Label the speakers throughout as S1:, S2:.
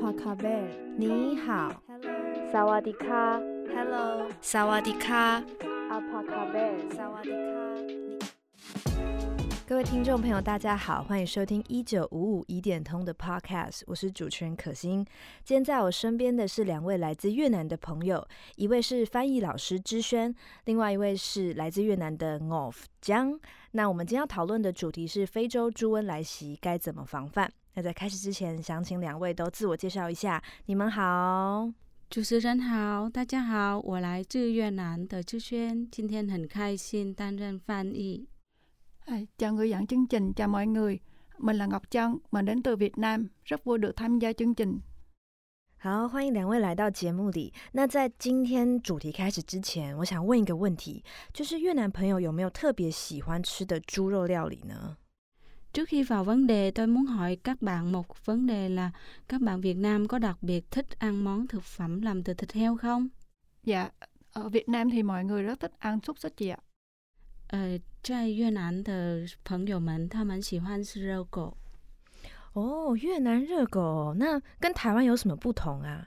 S1: 帕卡贝尔，你好。
S2: 萨瓦迪卡
S1: Hello， 萨瓦迪卡，
S2: 阿帕卡贝尔，
S1: 萨瓦迪卡。各位听众朋友，大家好，欢迎收听1955疑点通的 Podcast， 我是主持人可心。今天在我身边的是两位来自越南的朋友，一位是翻译老师之轩，另外一位是来自越南的 Ngọc Giang。那我们今天要讨论的主题是非洲猪瘟来袭该怎么防范。那在开始之前，想请两位都自我介绍一下。你们好。
S3: 主持人好，大家好，我来自越南的志轩，今天很开心担任翻译。
S4: Chào người dẫn chương trình, chào mọi người. Mình là Ngọc Trân, mình đến từ Việt Nam, rất vui được tham gia chương trình.
S1: 好，欢迎两位来到节目里。那在今天主题开始之前，我想问一个问题，就是越南朋友有没有特别喜欢吃的猪肉料理呢？
S3: Trước khi vào vấn đề, tôi muốn hỏi các bạn một vấn đề là các bạn Việt Nam có đặc biệt thích ăn món thực phẩm làm từ thịt heo không?
S4: Dạ, ở Việt Nam thì mọi người rất thích ăn xúc xích chị ạ.
S3: 在越南的朋友们，他们喜欢吃热狗。
S1: 哦，越南热狗，那跟台湾有什么不同啊？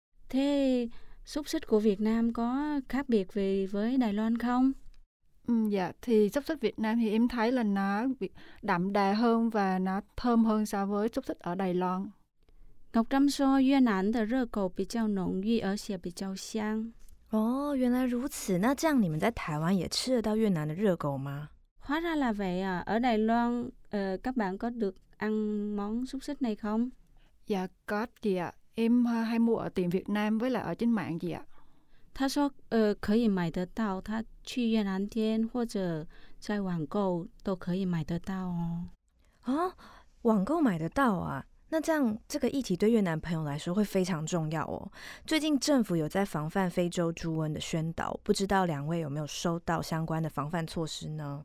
S3: Thế xúc xích của Việt Nam có khác biệt gì với Đài Loan không?
S4: Dạ, thì xúc xích Việt Nam thì em thấy là nó đậm đà hơn và nó thơm hơn so với xúc xích ở Đài Loan.
S3: Ngọc Trâm说越南的热狗比较浓郁，而且比较香。
S1: 哦，原来如此。那这样你们在台湾也吃得到越南的热狗吗？
S3: Hóa ra là vậy à. Ở Đài Loan, các bạn có được ăn món xúc xích này không?
S4: Dạ, có chị ạ. Em hay mua ở tiệm Việt Nam với lại ở trên mạng chị ạ.
S3: 他说可以买得到，他去越南店或者在网购都可以买得到哦。
S1: 哦，网购买得到啊？那这样这个议题对越南朋友来说会非常重要哦。最近政府有在防范非洲猪瘟的宣导，不知道两位有没有收到相关的防范措施呢？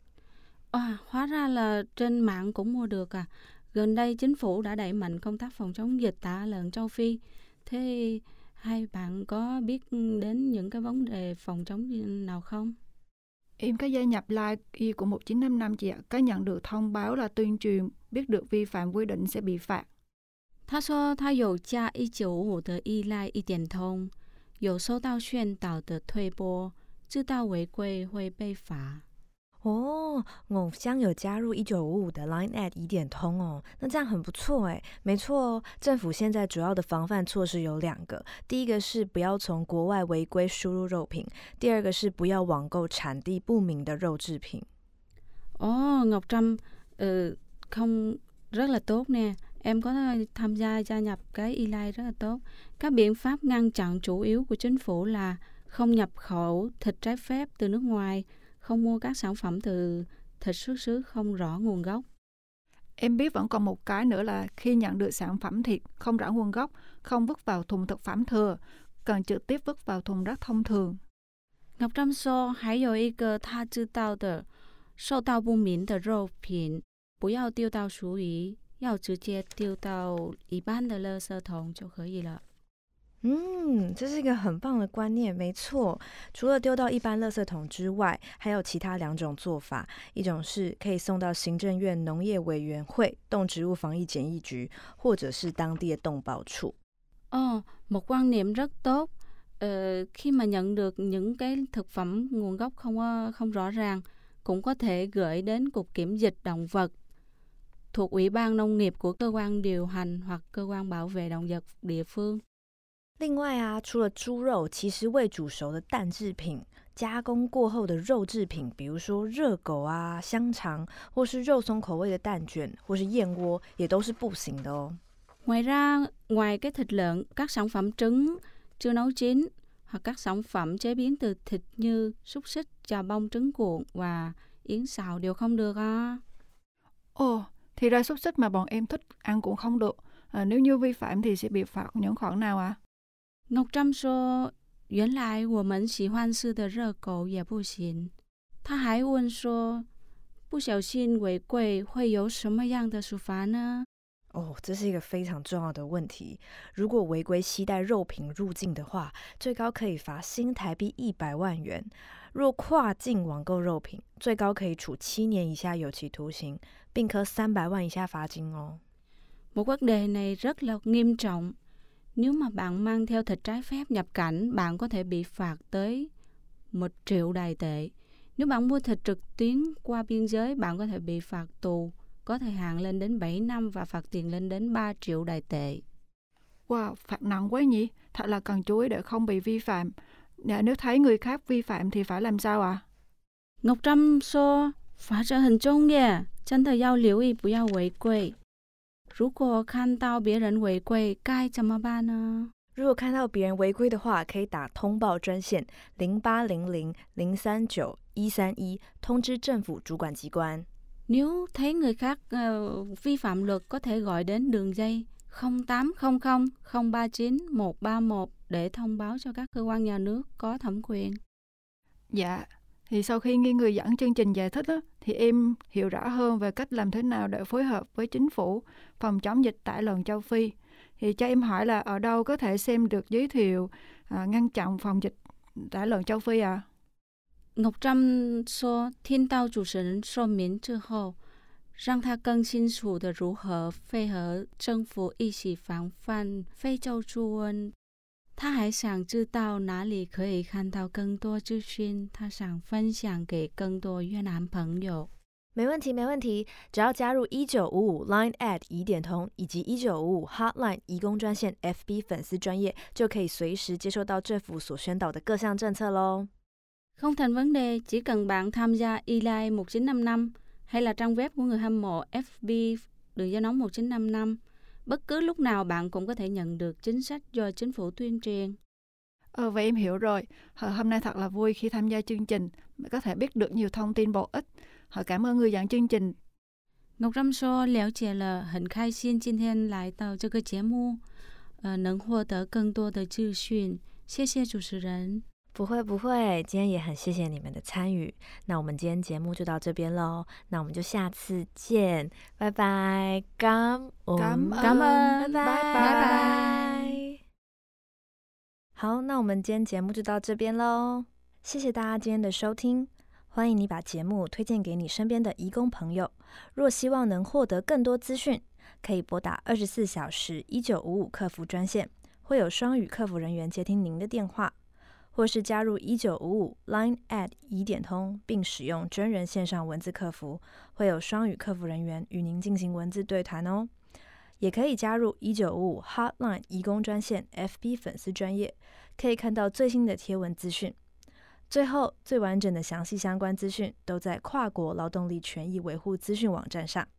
S3: Hóa ra là trên mạng cũng mua được à. Gần đây chính phủ đã đẩy mạnh công tác phòng chống dịch tả lợn châu Phi. Thế hai bạn có biết đến những cái vấn đề phòng chống nào không?
S4: Em có gia nhập Live của 1955 chị ạ. Có nhận được thông báo là tuyên truyền, biết được vi phạm quy định sẽ bị phạt.
S3: 他说他有加1955的依赖一点通，有收到宣导的推播，知道违规会被罚。
S1: 哦，Ngọc Giang有加入1955的 Line@ 疑点通哦，那这样很不错哎。没错哦，政府现在主要的防范措施有2个，第一个是不要从国外违规输入肉品，第二个是不要网购产地不明的肉制品。
S3: Ngọc Trâm không rất là tốt nè. Em có tham gia nhập cái e-line rất là tốt. Các biện pháp ngăn chặn chủ yếu của chính phủ là không nhập khẩu thịt trái phép từ nước ngoài, không mua các sản phẩm từ thịt xuất xứ không rõ nguồn gốc.
S4: Em biết vẫn còn một cái nữa là khi nhận được sản phẩm thịt không rõ nguồn gốc, không vứt vào thùng thực phẩm thừa, cần trực tiếp vứt vào thùng rác thông thường.
S3: Ngọc Trâm说还有一个他知道的，受到不明的肉品不要丢到厨余，要直接丢到一般的垃圾桶就可以了。
S1: 这是一个很棒的观念，没错。除了丢到一般垃圾桶之外，还有其他2种做法，一种是可以送到行政院农业委员会动植物防疫检疫局，或者是当地的动保处。
S3: Một quan niệm rất tốt. Khi mà nhận được những cái thực phẩm nguồn gốc không rõ ràng, cũng có thể gửi đến Cục Kiểm dịch Động vật thuộc Ủy ban Nông nghiệp của cơ quan điều hành hoặc cơ quan bảo vệ động vật địa phương。
S1: 另外啊，除了猪肉，其实未煮熟的蛋制品、加工过后的肉制品，比如说热狗啊、香肠，或是肉松口味的蛋卷，或是燕窝，也都是不行的哦。
S3: Ngoài ra, ngoài cái thịt lợn, các sản phẩm trứng chưa nấu chín hoặc các sản phẩm chế biến từ thịt như xúc xích, chà bông trứng cuộn và yến xào đều không được à.
S4: Thì ra xúc xích mà bọn em thích ăn cũng không được. Nếu như vi phạm thì sẽ bị phạt những khoản nào ạ?
S3: Ngọc Trâm说原来我们喜欢吃的热狗也不行。他还问说不小心违规会有什么样的处罚呢？
S1: 这是一个非常重要的问题。如果违规携带肉品入境的话，最高可以罚新台币100万元。若跨境网购肉品，最高可以处7年以下有期徒刑，并科300万以下罚金哦。
S3: Một vấn đề này rất là nghiêm trọng. Nếu mà bạn mang theo thịt trái phép nhập cảnh, bạn có thể bị phạt tới 1 triệu Đài tệ. Nếu bạn mua thịt trực tuyến qua biên giới, bạn có thể bị phạt tù có thời hạn lên đến 7 năm và phạt tiền lên đến 3 triệu Đài tệ.
S4: Wow, phạt nặng quá nhỉ? Thật là cần chú ý để không bị vi phạm. Nếu thấy người khác vi phạm thì phải làm sao ạ?
S3: Ngọc Trâm说法则很重要，真的要留意不要违规。如果看到别人违规，该怎么办呢？
S1: 如果看到别人违规的话，可以打通报专线0800-039-131通知政府主管机关。
S3: Nếu thấy người khác vi phạm luật, có thể gọi đến đường dây 0800 039 131 để thông báo cho các cơ quan nhà nước có thẩm quyền.
S4: Dạ, thì sau khi nghe người dẫn chương trình giải thích á, thì em hiểu rõ hơn về cách làm thế nào để phối hợp với chính phủ phòng chống dịch tả lợn châu Phi. Thì cho em hỏi là ở đâu có thể xem được giới thiệu ngăn chặn phòng dịch tả lợn châu Phi ạ?
S3: Ngọc Trâm 说听到主持人说明之后，让他更清楚的如何配合政府一起防范非洲猪瘟。他还想知道哪里可以看到更多资讯，他想分享给更多越南朋友。
S1: 没问题，没问题，只要加入1955 Line@ 疑点通以及1955 Hotline 移工专线 FB 粉丝专页，就可以随时接收到政府所宣导的各项政策咯。
S3: Không thành vấn đề, chỉ cần bạn tham gia E-Line 1955 hay là trang web của người hâm mộ FB đường dây nóng 1955. Bất cứ lúc nào bạn cũng có thể nhận được chính sách do chính phủ tuyên truyền.
S4: Vậy em hiểu rồi. Hôm nay thật là vui khi tham gia chương trình, có thể biết được nhiều thông tin bổ ích. Cảm ơn người dẫn chương trình.
S3: Ngọc Trâm 说了解了，很开心今天来到这个节目，能获得更多的资讯。谢谢主持人。
S1: 不会不会，今天也很谢谢你们的参与。那我们今天节目就到这边咯，那我们就下次见，拜拜，感恩，拜拜。好，那我们今天节目就到这边咯，谢谢大家今天的收听。欢迎你把节目推荐给你身边的移工朋友。若希望能获得更多资讯，可以拨打24小时1955客服专线，会有双语客服人员接听您的电话。 或是加入1955 Line@ 疑点通，并使用真人线上文字客服，会有双语客服人员与您进行文字对谈哦。也可以加入1955 Hotline 移工专线 FB 粉丝专页，可以看到最新的贴文资讯。最后，最完整的详细相关资讯都在跨国劳动力权益维护资讯网站上。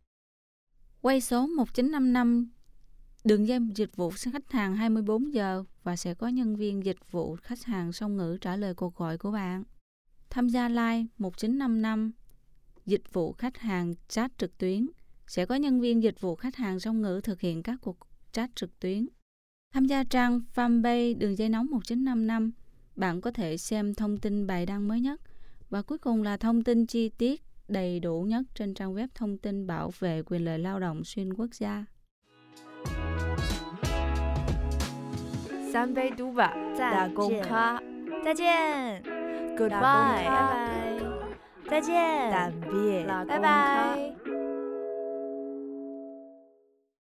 S3: Quay số 1955 đường dây dịch vụ khách hàng 24 giờ và sẽ có nhân viên dịch vụ khách hàng song ngữ trả lời cuộc gọi của bạn. Tham gia Line 1955 dịch vụ khách hàng chat trực tuyến, sẽ có nhân viên dịch vụ khách hàng song ngữ thực hiện các cuộc chat trực tuyến. Tham gia trang fanpage đường dây nóng 1955, bạn có thể xem thông tin bài đăng mới nhất và cuối cùng là thông tin chi tiết đầy đủ nhất trên trang web thông tin bảo vệ quyền lợi lao động xuyên quốc gia.
S1: 三杯嘟吧，打工卡，再见 ，Goodbye，拜拜，再见，拜拜。